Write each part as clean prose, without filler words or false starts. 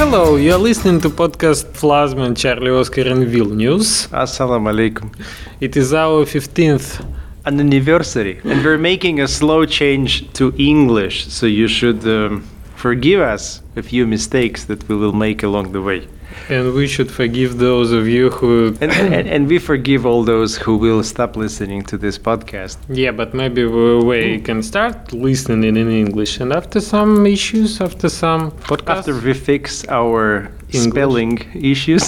Hello, you're listening to podcast Plasma, Charlie, Oscar and Vilnius. Assalamu alaikum. It is our 15th An anniversary, and we're making a slow change to English, so you should forgive us a few mistakes that we will make along the way. and we should forgive those of you who... And we forgive all those who will stop listening to this podcast. Yeah, but maybe we can start listening in English, and after some issues, after some podcasts... After we fix our English. spelling issues,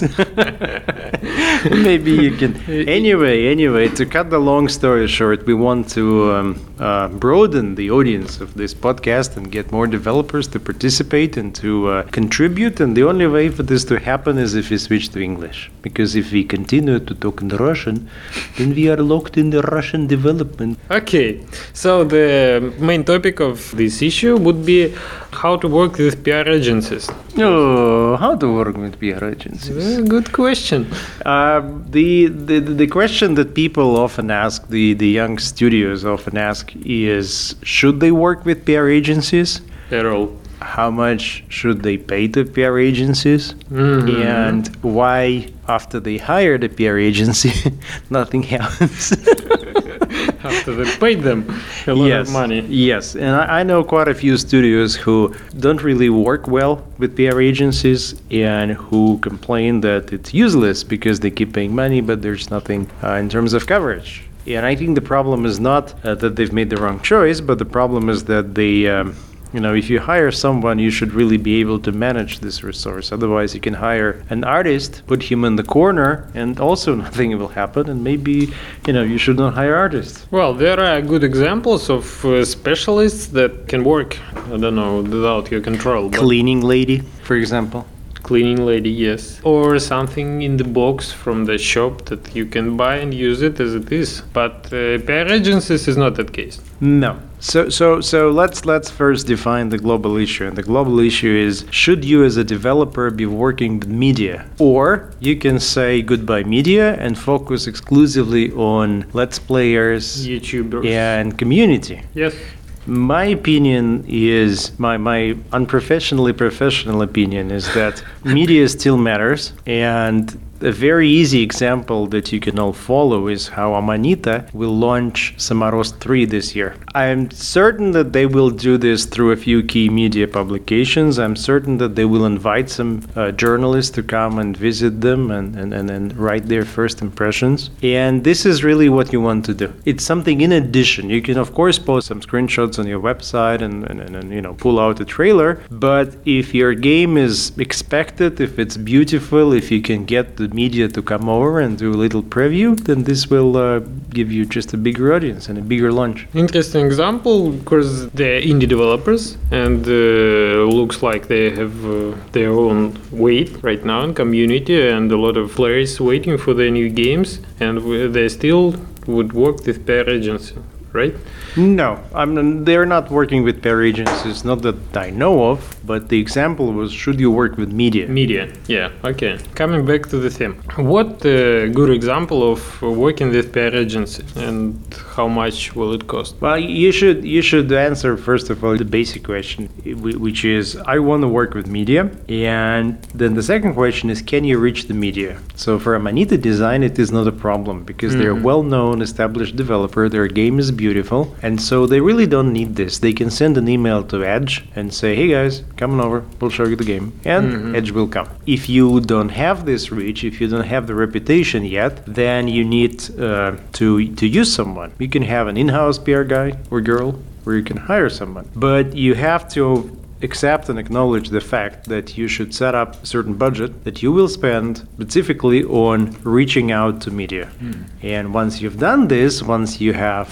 maybe you can... Anyway, to cut the long story short, we want to broaden the audience of this podcast and get more developers to participate and to contribute, and the only way for this to happen is if we switch to English. Because if we continue to talk in Russian, then we are locked in the Russian development. Okay, so the main topic of this issue would be how to work with PR agencies. Oh, how to work with PR agencies? Good question. The question that people often ask, the young studios often ask is, should they work with PR agencies? At all. How much should they pay to PR agencies? Mhm. And why, after they hire the PR agency, nothing happens? After they paid them a lot of money. Yes, and I know quite a few studios who don't really work well with PR agencies and who complain that it's useless because they keep paying money, but there's nothing in terms of coverage. And I think the problem is not that they've made the wrong choice, but the problem is that they... if you hire someone, you should really be able to manage this resource. Otherwise, you can hire an artist, put him in the corner, and also nothing will happen. And maybe, you should not hire artists. Well, there are good examples of specialists that can work, I don't know, without your control. but- Cleaning lady, for example. Cleaning lady, yes. Or something in the box from the shop that you can buy and use it as it is. But PR agencies is not that case. No. So let's first define the global issue. And the global issue is, should you as a developer be working with media? Or you can say goodbye media and focus exclusively on Let's Players YouTubers. and community. Yes. My opinion is, my unprofessionally professional opinion is that media still matters, and a very easy example that you can all follow is how Amanita will launch Samaros 3 this year. I'm certain that they will do this through a few key media publications. I'm certain that they will invite some journalists to come and visit them and write their first impressions. And this is really what you want to do. It's something in addition. You can, of course, post some screenshots on your website and pull out a trailer. But if your game is expected, if it's beautiful, if you can get the media to come over and do a little preview, then this will give you just a bigger audience and a bigger launch. Interesting example, because they're indie developers and looks like they have their own weight right now in community and a lot of players waiting for their new games, and they still would work with PR agency, right? No, they're not working with PR agencies, not that I know of, but the example was, should you work with media? Media, yeah, okay. Coming back to the theme. What a good example of working with PR agency and how much will it cost? Well, you should answer, first of all, the basic question, which is, I want to work with media, and then the second question is, can you reach the media? So for Amanita Design, it is not a problem, because they're a well-known, established developer, their game is beautiful, and so they really don't need this. They can send an email to Edge and say, hey guys, come on over, we'll show you the game. And Edge will come. If you don't have this reach, if you don't have the reputation yet, then you need to use someone. You can have an in-house PR guy or girl, or you can hire someone. But you have to accept and acknowledge the fact that you should set up a certain budget that you will spend specifically on reaching out to media. And once you've done this, once you have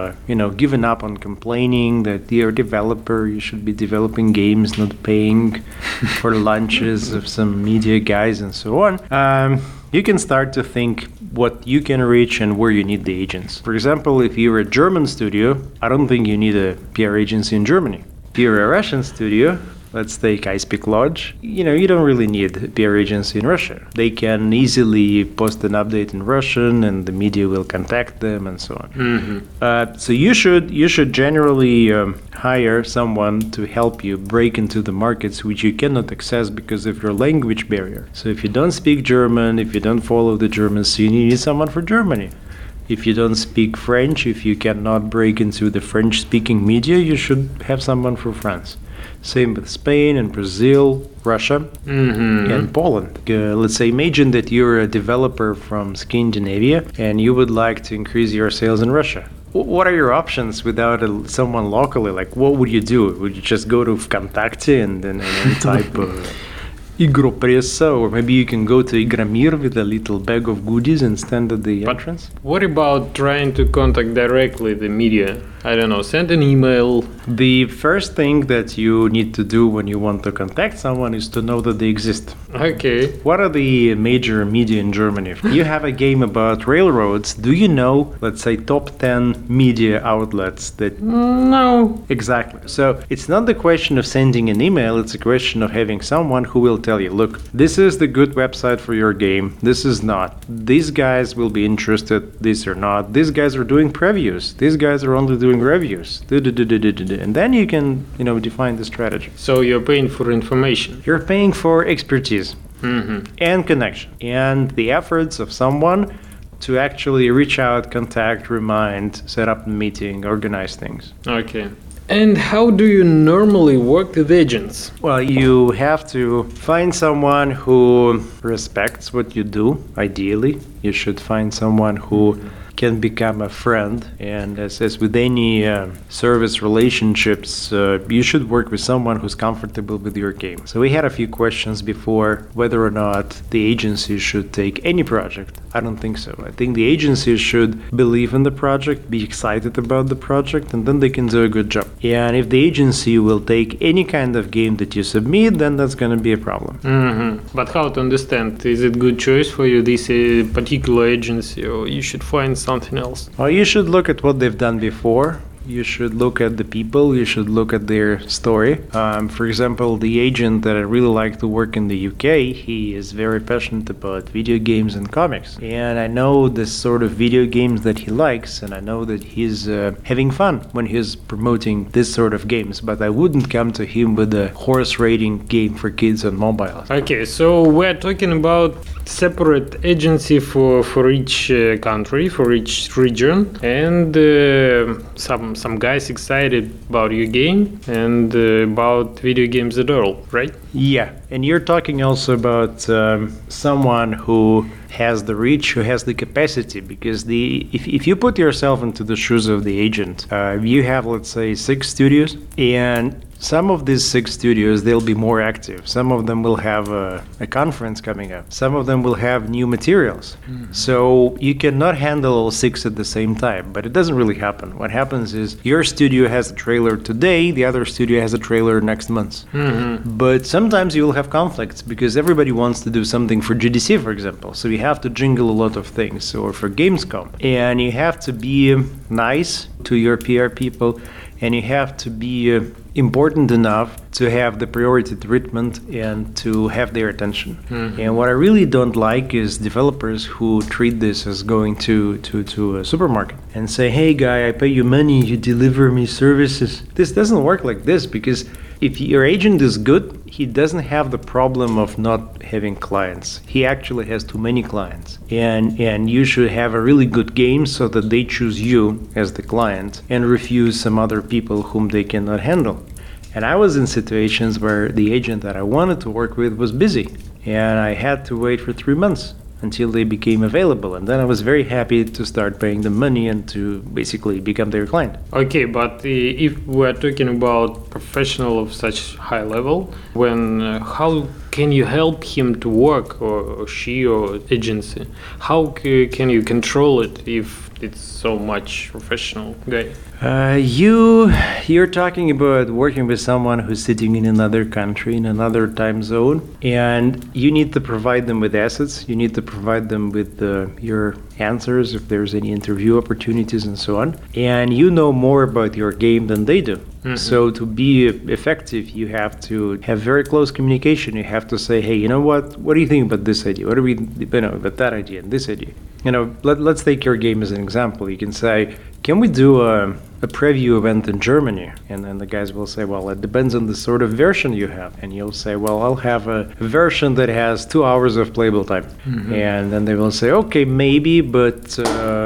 given up on complaining that you're a developer, you should be developing games, not paying for lunches of some media guys and so on, you can start to think what you can reach and where you need the agents. For example, if you're a German studio, I don't think you need a PR agency in Germany. If you're a Russian studio, let's take I Speak Lodge. You don't really need a PR agency in Russia. They can easily post an update in Russian, and the media will contact them, and so on. So you should generally hire someone to help you break into the markets which you cannot access because of your language barrier. So if you don't speak German, if you don't follow the German scene, you need someone for Germany. If you don't speak French, if you cannot break into the French-speaking media, you should have someone for France. Same with Spain and Brazil, Russia, and Poland. Let's say, imagine that you're a developer from Scandinavia and you would like to increase your sales in Russia. What are your options without someone locally? Like, what would you do? Would you just go to Vkontakte and then type Igropressa, or maybe you can go to Igramir with a little bag of goodies and stand at the entrance? What about trying to contact directly the media? I don't know, send an email. The first thing that you need to do when you want to contact someone is to know that they exist. Okay. What are the major media in Germany? If you have a game about railroads, do you know, let's say, top 10 media outlets that... No. Exactly. So it's not the question of sending an email, it's a question of having someone who will tell you, look, this is the good website for your game, this is not. These guys will be interested, these are not. These guys are doing previews, these guys are only doing reviews. And then you can, define the strategy. So you're paying for information. You're paying for expertise and connection and the efforts of someone to actually reach out, contact, remind, set up a meeting, organize things. Okay. And how do you normally work with agents? Well, you have to find someone who respects what you do, ideally. You should find someone who can become a friend. And as with any service relationships, you should work with someone who's comfortable with your game. So we had a few questions before whether or not the agency should take any project. I don't think so. I think the agency should believe in the project, be excited about the project, and then they can do a good job. And if the agency will take any kind of game that you submit, then that's going to be a problem. But how to understand? Is it good choice for you, this particular agency, or you should find something else? Well, you should look at what they've done before. You should look at the people, you should look at their story. For example, the agent that I really like to work in the UK, he is very passionate about video games and comics. And I know the sort of video games that he likes, and I know that he's having fun when he's promoting this sort of games. But I wouldn't come to him with a horse racing game for kids on mobile. Okay, so we're talking about separate agency for each country, for each region, and some guys excited about your game and about video games at all, right? Yeah, and you're talking also about someone who has the reach, who has the capacity, because if you put yourself into the shoes of the agent, you have, let's say, 6 studios, and some of these 6 studios, they'll be more active. Some of them will have a conference coming up. Some of them will have new materials. So you cannot handle all 6 at the same time, but it doesn't really happen. What happens is your studio has a trailer today, the other studio has a trailer next month. But sometimes you will have conflicts because everybody wants to do something for GDC, for example. So you have to jingle a lot of things, or for Gamescom. And you have to be nice to your PR people, and you have to be important enough to have the priority treatment and to have their attention. And what I really don't like is developers who treat this as going to a supermarket and say, hey guy, I pay you money, you deliver me services. This doesn't work like this, because if your agent is good, he doesn't have the problem of not having clients. He actually has too many clients. And you should have a really good game so that they choose you as the client and refuse some other people whom they cannot handle. And I was in situations where the agent that I wanted to work with was busy, and I had to wait for 3 months until they became available. And then I was very happy to start paying them money and to basically become their client. Okay, but if we're talking about professional of such high level, when how can you help him to work, or she, or agency? How can you control it if it's so much professional guy? You're talking about working with someone who's sitting in another country, in another time zone, and you need to provide them with assets. You need to provide them with your answers, if there's any interview opportunities and so on. And you know more about your game than they do. So to be effective, you have to have very close communication. You have to say, hey, you know what do you think about this idea? What do we, about that idea and this idea? Let's take your game as an example. You can say, can we do a preview event in Germany? And then the guys will say, well, it depends on the sort of version you have. And you'll say, well, I'll have a version that has 2 hours of playable time. And then they will say, okay, maybe, but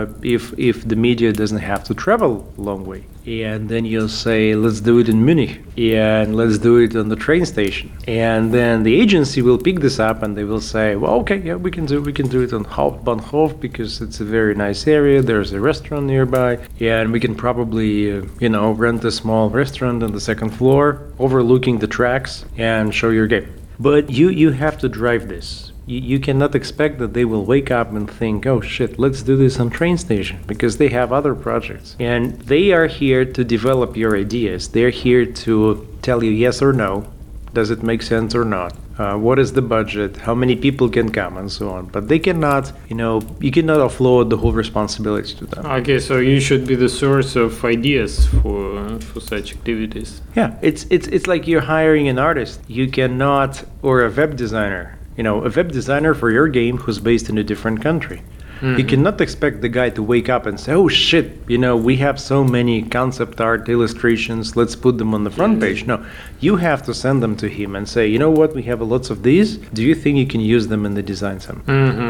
if the media doesn't have to travel a long way. And then you'll say, let's do it in Munich, and let's do it on the train station. And then the agency will pick this up and they will say, well, okay, yeah, we can do it on Hauptbahnhof because it's a very nice area. There's a restaurant nearby, and we can probably, rent a small restaurant on the second floor overlooking the tracks and show your game. But you have to drive this. You cannot expect that they will wake up and think, oh shit, let's do this on train station, because they have other projects. And they are here to develop your ideas. They're here to tell you yes or no. Does it make sense or not? What is the budget? How many people can come and so on? But they cannot, you cannot offload the whole responsibility to them. Okay, so you should be the source of ideas for such activities. Yeah, it's like you're hiring an artist. You cannot, or a web designer. A web designer for your game who's based in a different country. You cannot expect the guy to wake up and say, oh shit, we have so many concept art illustrations, let's put them on the front page. No, you have to send them to him and say, you know what, we have lots of these. Do you think you can use them in the design sim?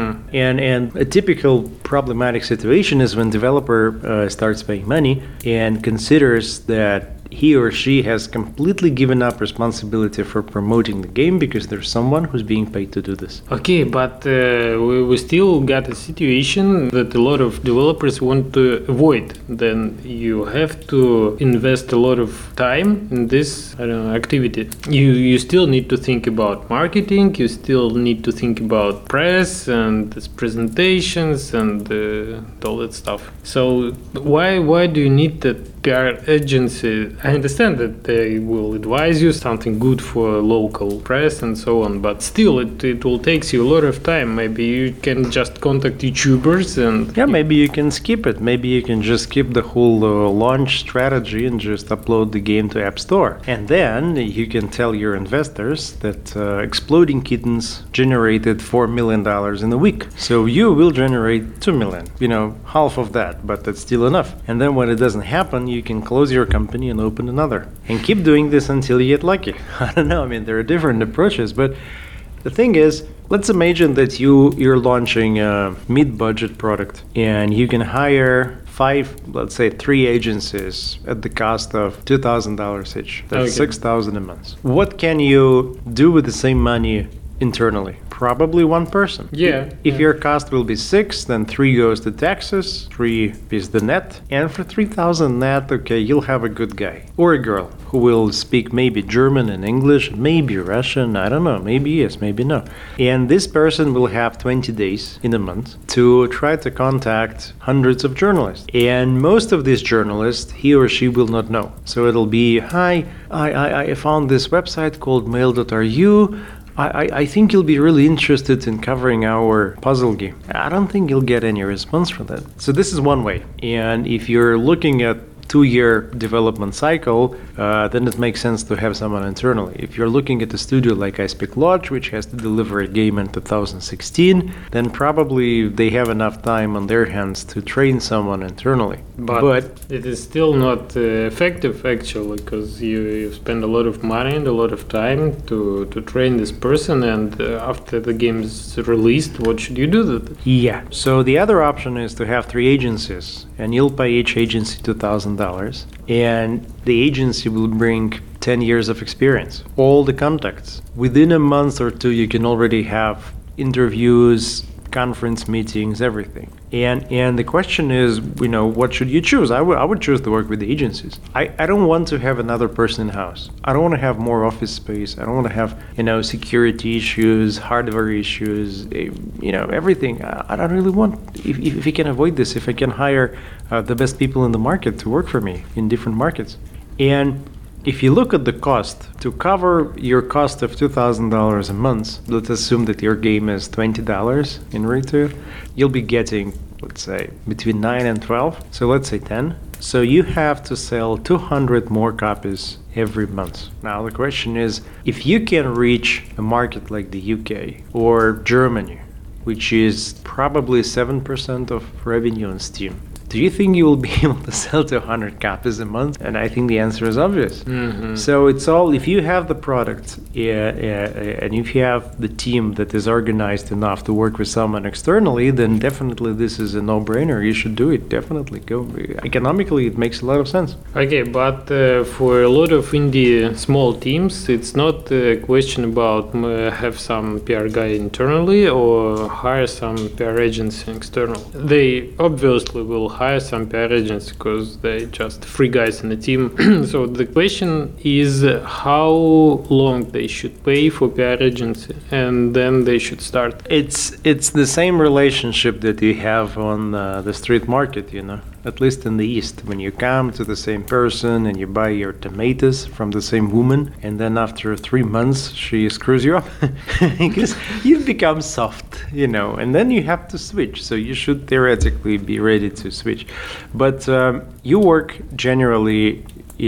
And a typical problematic situation is when developer starts paying money and considers that he or she has completely given up responsibility for promoting the game because there's someone who's being paid to do this. Okay, but we still got a situation that a lot of developers want to avoid. Then you have to invest a lot of time in this activity. You still need to think about marketing, you still need to think about press and presentations and all that stuff. So why do you need that PR agency? I understand that they will advise you something good for local press and so on, but still it will take you a lot of time. Maybe you can just contact YouTubers and... Yeah, maybe you can skip it. Maybe you can just skip the whole launch strategy and just upload the game to App Store. And then you can tell your investors that Exploding Kittens generated $4 million in a week. So you will generate $2 million, half of that, but that's still enough. And then when it doesn't happen, you can close your company and open another. And keep doing this until you get lucky. I don't know, there are different approaches, but the thing is, let's imagine that you're launching a mid-budget product and you can hire 3 agencies at the cost of $2,000 each. That's $6,000 a month. What can you do with the same money internally? Probably one person. Yeah. If your cost will be 6, then 3 goes to taxes, 3 is the net, and for 3,000 net, okay, you'll have a good guy or a girl who will speak maybe German and English, maybe Russian, I don't know, maybe yes, maybe no. And this person will have 20 days in a month to try to contact hundreds of journalists. And most of these journalists, he or she will not know. So it'll be, hi, I found this website called mail.ru. I think you'll be really interested in covering our puzzle game. I don't think you'll get any response from that. So this is one way. And if you're looking at 2-year development cycle, then it makes sense to have someone internally. If you're looking at a studio like iSpeak Lodge, which has to deliver a game in 2016, then probably they have enough time on their hands to train someone internally. But it is still not effective, actually, because you spend a lot of money and a lot of time to train this person, and after the game is released, what should you do with it? Yeah, so the other option is to have 3 agencies, and you'll pay each agency $2,000, and the agency will bring 10 years of experience, all the contacts. Within a month or 2, you can already have interviews, conference meetings, everything. And the question is, what should you choose? I would choose to work with the agencies. I don't want to have another person in-house. I don't want to have more office space. I don't want to have, security issues, hardware issues, everything. I don't really want, if we can avoid this, if I can hire the best people in the market to work for me in different markets. And if you look at the cost, to cover your cost of $2,000 a month, let's assume that your game is $20 in retail, you'll be getting let's say between 9 and 12, so let's say 10. So you have to sell 200 more copies every month. Now the question is, if you can reach a market like the UK or Germany, which is probably 7% of revenue on Steam, do you think you will be able to sell 200 copies a month? And I think the answer is obvious. So it's all, if you have the product and if you have the team that is organized enough to work with someone externally, then definitely this is a no-brainer. You should do it. Definitely go. Economically, it makes a lot of sense. Okay, but for a lot of indie small teams, it's not a question about have some PR guy internally or hire some PR agency external. They obviously will hire some PR agents because they just free guys in the team. So the question is how long they should pay for PR agency, and then they should start. It's the same relationship that you have on the street market, you know, at least in the East. When you come to the same person and you buy your tomatoes from the same woman, and then after 3 months she screws you up because you've become soft, you know, and then you have to switch. So you should theoretically be ready to switch. But you work generally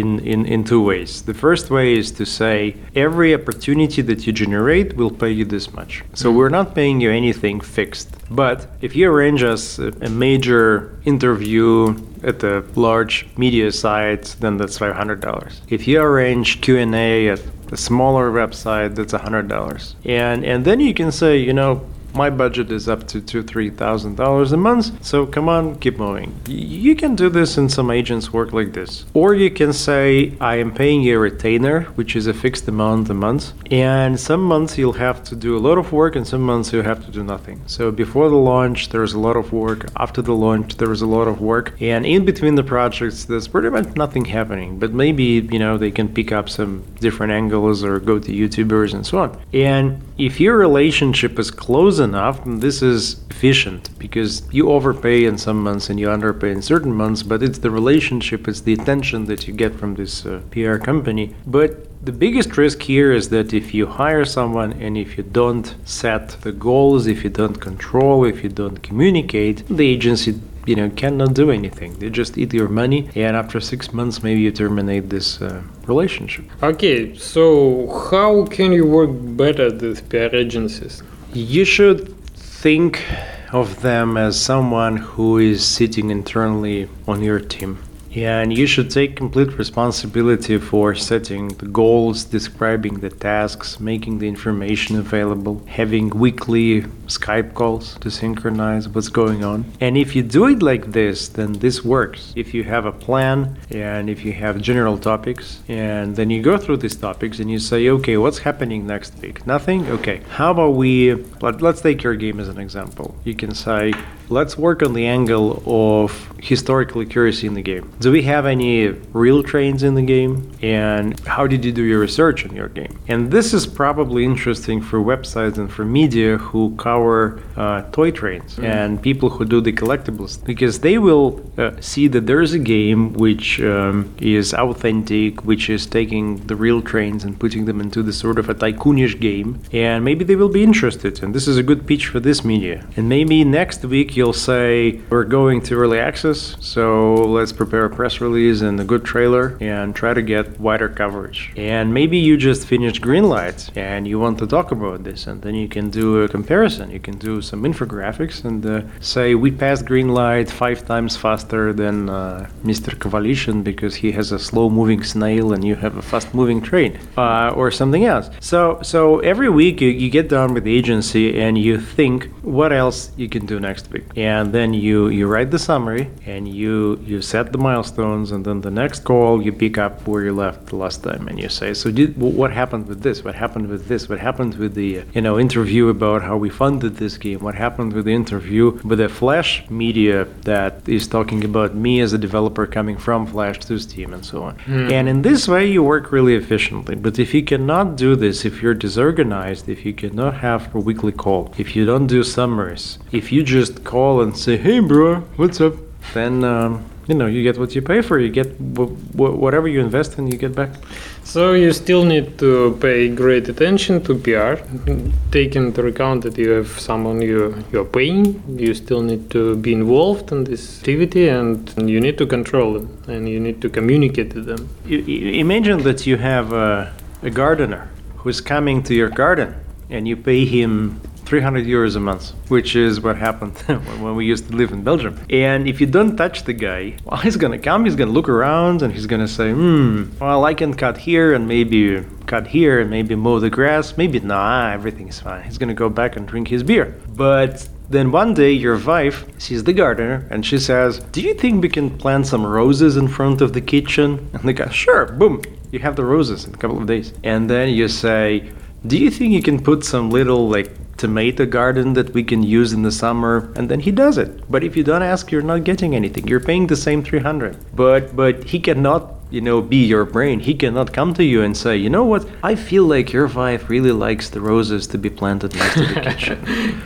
in two ways. The first way is to say every opportunity that you generate will pay you this much. So we're not paying you anything fixed. But if you arrange us a major interview at a large media site, then that's $500. If you arrange Q&A at a smaller website, that's $100. And then you can say, you know, my budget is up to $2,000-3,000 a month, so come on, keep moving. You can do this, and some agents work like this. Or you can say, I am paying you a retainer, which is a fixed amount a month, and some months you'll have to do a lot of work, and some months you have to do nothing. So before the launch, there's a lot of work. After the launch, there is a lot of work. And in between the projects, there's pretty much nothing happening. But maybe, you know, they can pick up some different angles or go to YouTubers and so on. And if your relationship is close enough, this is efficient because you overpay in some months and you underpay in certain months, but it's the relationship, it's the attention that you get from this PR company. But the biggest risk here is that if you hire someone and if you don't set the goals, if you don't control, if you don't communicate, the agency, you know, cannot do anything. They just eat your money, and after 6 months, maybe you terminate this relationship. Okay, so how can you work better with PR agencies? You should think of them as someone who is sitting internally on your team. And you should take complete responsibility for setting the goals, describing the tasks, making the information available, having weekly Skype calls to synchronize what's going on. And if you do it like this, then this works. If you have a plan and if you have general topics, and then you go through these topics and you say, okay, what's happening next week? Nothing? Okay. How about let's take your game as an example. You can say, let's work on the angle of historical accuracy in the game. Do we have any real trains in the game? And how did you do your research on your game? And this is probably interesting for websites and for media who cover toy trains and people who do the collectibles, because they will see that there is a game which is authentic, which is taking the real trains and putting them into the sort of a tycoonish game, and maybe they will be interested, and this is a good pitch for this media. And maybe next week you'll say, we're going to early access, so let's prepare a press release and a good trailer and try to get wider coverage. And maybe you just finished Greenlight and you want to talk about this, and then you can do a comparison. You can do some infographics and say, we passed Greenlight 5 times faster than Mr. Kovalyshin because he has a slow-moving snail and you have a fast-moving train, or something else. So every week you get down with the agency and you think what else you can do next week. And then you write the summary and you set the milestones, and then the next call you pick up where you left the last time and you say, so what happened with this? What happened with this? What happened with the interview about how we funded this game? What happened with the interview with the Flash media that is talking about me as a developer coming from Flash to Steam and so on. And in this way you work really efficiently. But if you cannot do this, if you're disorganized, if you cannot have a weekly call, if you don't do summaries, if you just call and say, hey bro, what's up? Then you get what you pay for. You get whatever you invest in, you get back. So you still need to pay great attention to PR, take into account that you have someone you're paying. You still need to be involved in this activity, and you need to control them, and you need to communicate to them. Imagine that you have a gardener who's coming to your garden, and you pay him 300 euros a month, which is what happened when we used to live in Belgium. And if you don't touch the guy, well, he's gonna come, he's gonna look around, and he's gonna say, well, I can cut here and maybe cut here and maybe mow the grass. Maybe, nah, everything's fine. He's gonna go back and drink his beer. But then one day your wife sees the gardener and she says, do you think we can plant some roses in front of the kitchen? And the guy, sure, boom, you have the roses in a couple of days. And then you say, do you think you can put some little tomato garden that we can use in the summer? And then he does it. But if you don't ask, you're not getting anything. You're paying the same 300. But he cannot be your brain. He cannot come to you and say, you know what, I feel like your wife really likes the roses to be planted next to the kitchen.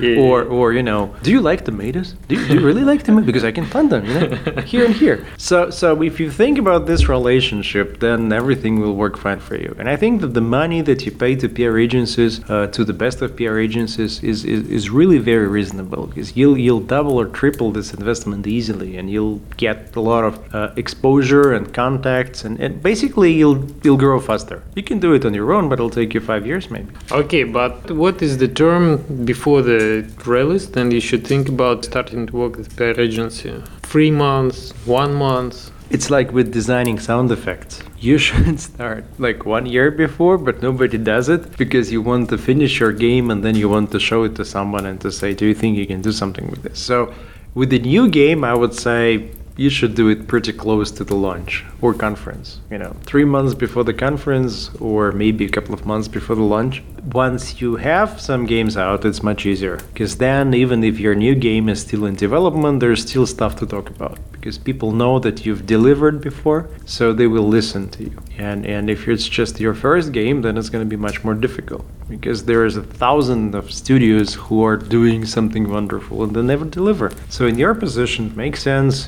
Or do you like tomatoes? Do you really like tomatoes? Because I can plant them, here and here. So if you think about this relationship, then everything will work fine for you. And I think that the money that you pay to PR agencies, to the best of PR agencies, is really very reasonable, because you'll double or triple this investment easily, and you'll get a lot of exposure and contacts. And basically you'll grow faster. You can do it on your own, but it'll take you 5 years maybe. Okay, but what is the term before the release? Then you should think about starting to work with PR agency. 3 months, 1 month. It's like with designing sound effects. You should start 1 year before, but nobody does it because you want to finish your game and then you want to show it to someone and to say, do you think you can do something with this? So with the new game, I would say you should do it pretty close to the launch or conference. 3 months before the conference, or maybe a couple of months before the launch. Once you have some games out, it's much easier, because then even if your new game is still in development, there's still stuff to talk about, because people know that you've delivered before, so they will listen to you. And if it's just your first game, then it's going to be much more difficult, because there is 1,000 of studios who are doing something wonderful and they never deliver. So in your position, it makes sense.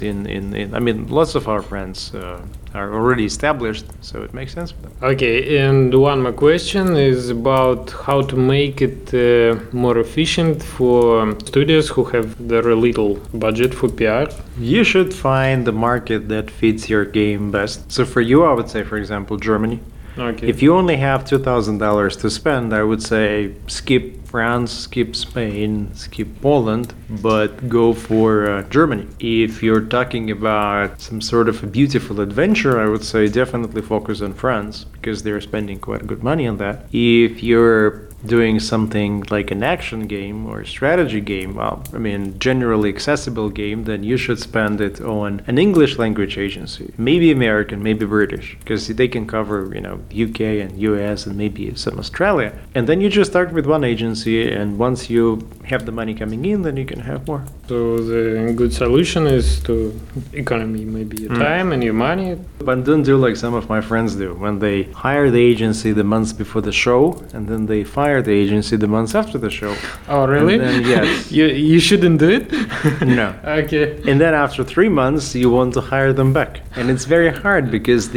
Lots of our friends are already established, so it makes sense for them. Okay, and one more question is about how to make it more efficient for studios who have very little budget for PR. You should find the market that fits your game best. So for you, I would say, for example, Germany. Okay. If you only have $2,000 to spend, I would say skip France, skip Spain, skip Poland, but go for Germany. If you're talking about some sort of a beautiful adventure, I would say definitely focus on France, because they're spending quite good money on that. If you're doing something like an action game or a strategy game, generally accessible game, then you should spend it on an English language agency, maybe American, maybe British, because they can cover, UK and US and maybe some Australia. And then you just start with one agency, and once you have the money coming in, then you can have more. So the good solution is to economy, maybe your time and your money. But don't do like some of my friends do, when they hire the agency the months before the show, and then they fire the agency the months after the show. Oh, really? And then, yes. You shouldn't do it? No. Okay. And then after 3 months, you want to hire them back. And it's very hard, because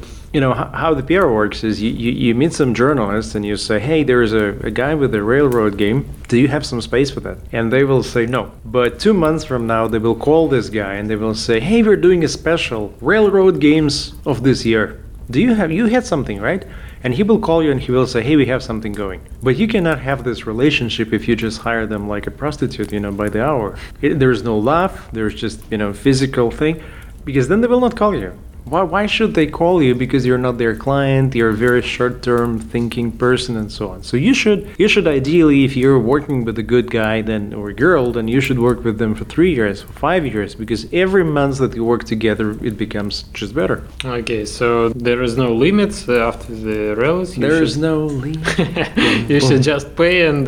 how the PR works is you meet some journalists and you say, hey, there's a guy with a railroad game. Do you have some space for that? And they will say no. But 2 months from now, they will call this guy and they will say, hey, we're doing a special railroad games of this year. You had something, right? And he will call you and he will say, hey, we have something going. But you cannot have this relationship if you just hire them like a prostitute, by the hour. There's no love, there's just, physical thing, because then they will not call you. Why should they call you? Because you're not their client, you're a very short-term thinking person and so on. So you should ideally, if you're working with a good guy or girl, then you should work with them for 3 years, for 5 years, because every month that you work together, it becomes just better. Okay, so there is no limits after the release? There is no limit. You should just pay and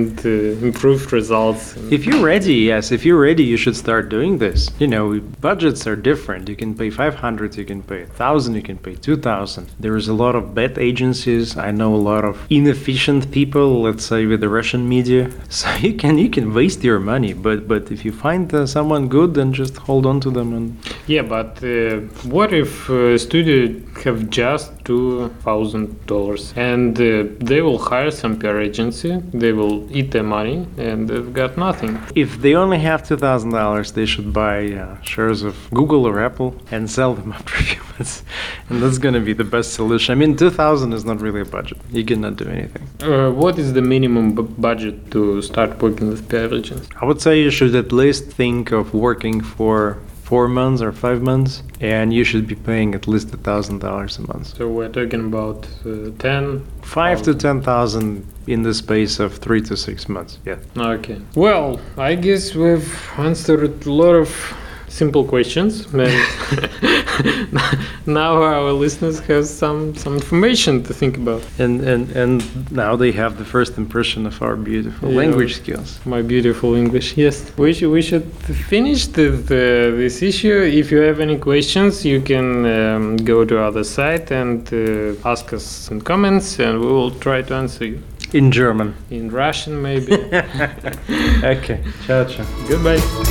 improve results. If you're ready, you should start doing this. Budgets are different. You can pay 500, you can pay 1,000, you can pay 2,000. There is a lot of bad agencies. I know a lot of inefficient people, let's say with the Russian media. So you can waste your money, but if you find someone good, then just hold on to them. And Yeah, but what if studio have just $2,000 and they will hire some PR agency, they will eat their money and they've got nothing. if they only have $2,000, they should buy shares of Google or Apple and sell them after a few months, and that's gonna be the best solution. I mean, 2,000 is not really a budget. You cannot do anything. What is the minimum budget to start working with PR agency? I would say you should at least think of working for 4 months or 5 months, and you should be paying at least $1,000 a month. So we're talking about 10? 5 to 10,000 in the space of 3 to 6 months. Yeah. Okay. Well, I guess we've answered a lot of simple questions. And now our listeners have some information to think about. And now they have the first impression of our beautiful Yeah. language skills. My beautiful English, yes. We should finish this issue. If you have any questions, you can go to our site and ask us in comments, and we will try to answer you. In German. In Russian, maybe. Okay. Ciao, ciao. Goodbye.